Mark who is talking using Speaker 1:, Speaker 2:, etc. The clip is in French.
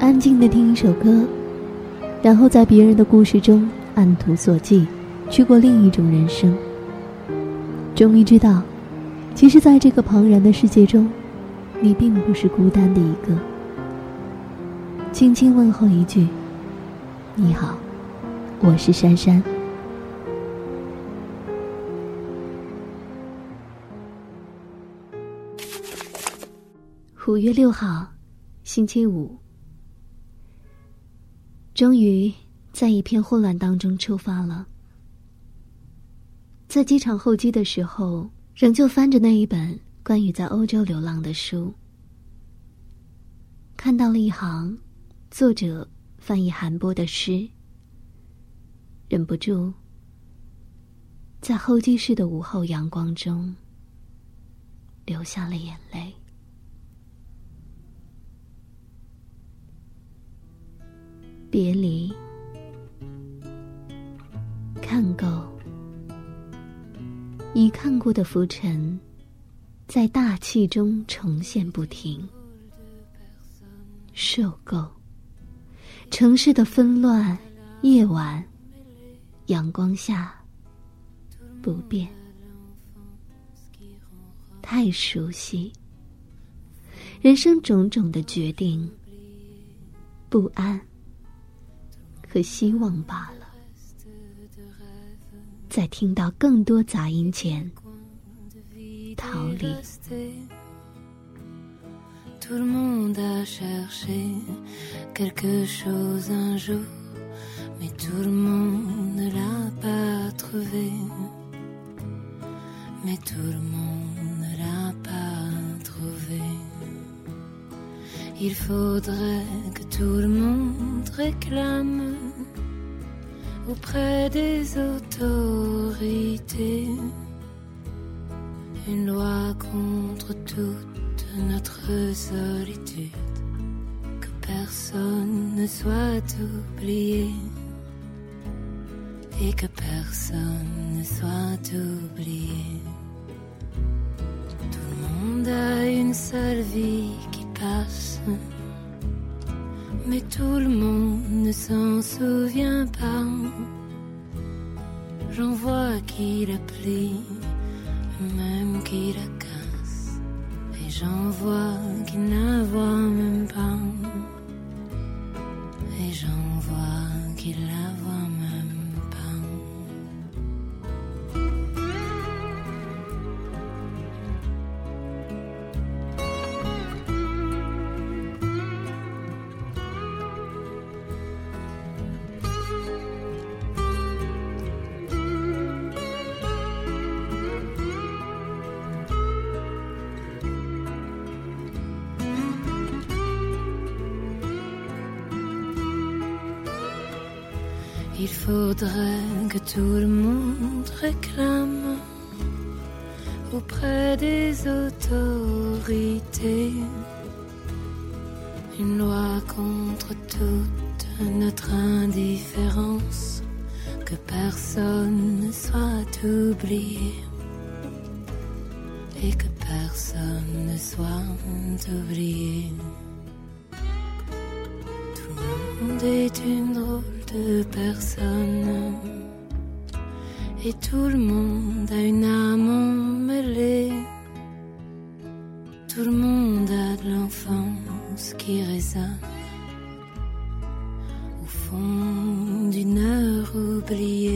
Speaker 1: 安静地听一首歌，然后在别人的故事中按图索骥，去过另一种人生。终于知道，其实在这个庞然的世界中，你并不是孤单的一个。轻轻问候一句，你好，我是珊珊。5月6号，星期五。终于在一片混乱当中出发了。在机场候机的时候，仍旧翻着那一本关于在欧洲流浪的书，看到了一行作者翻译韩波的诗，忍不住在候机室的午后阳光中流下了眼泪。别离，看够，已看过的浮尘在大气中重现不停。受够城市的纷乱，夜晚阳光下不变，太熟悉人生种种的决定，不安和希望罢了。在听到更多杂音前逃离。
Speaker 2: Tout le monde a cherché quelque chose un jour, mais tout le monde ne l'a pas trouvé. Mais tout le monde ne l'a pas trouvé. Il faudrait que tout le monde réclame auprès des autorités une loi contre toute notre solitude, que personne ne soit oublié et que personne ne soit oublié. Tout le monde a une seule vie qui passe, mais tout le monde ne s'en souvient pas. J'en vois qui la plie, même qui la casse, et j'en vois qui ne la voient même pas, et j'en vois qui la voient même pas. Il faudrait que tout le monde réclame auprès des autorités une loi contre toute notre indifférence, que personne ne soit oublié et que personne ne soit oublié. Tout le monde est une drôle de personne, et tout le monde a une âme emmêlée. Tout le monde a de l'enfance qui résonne au fond d'une heure oubliée.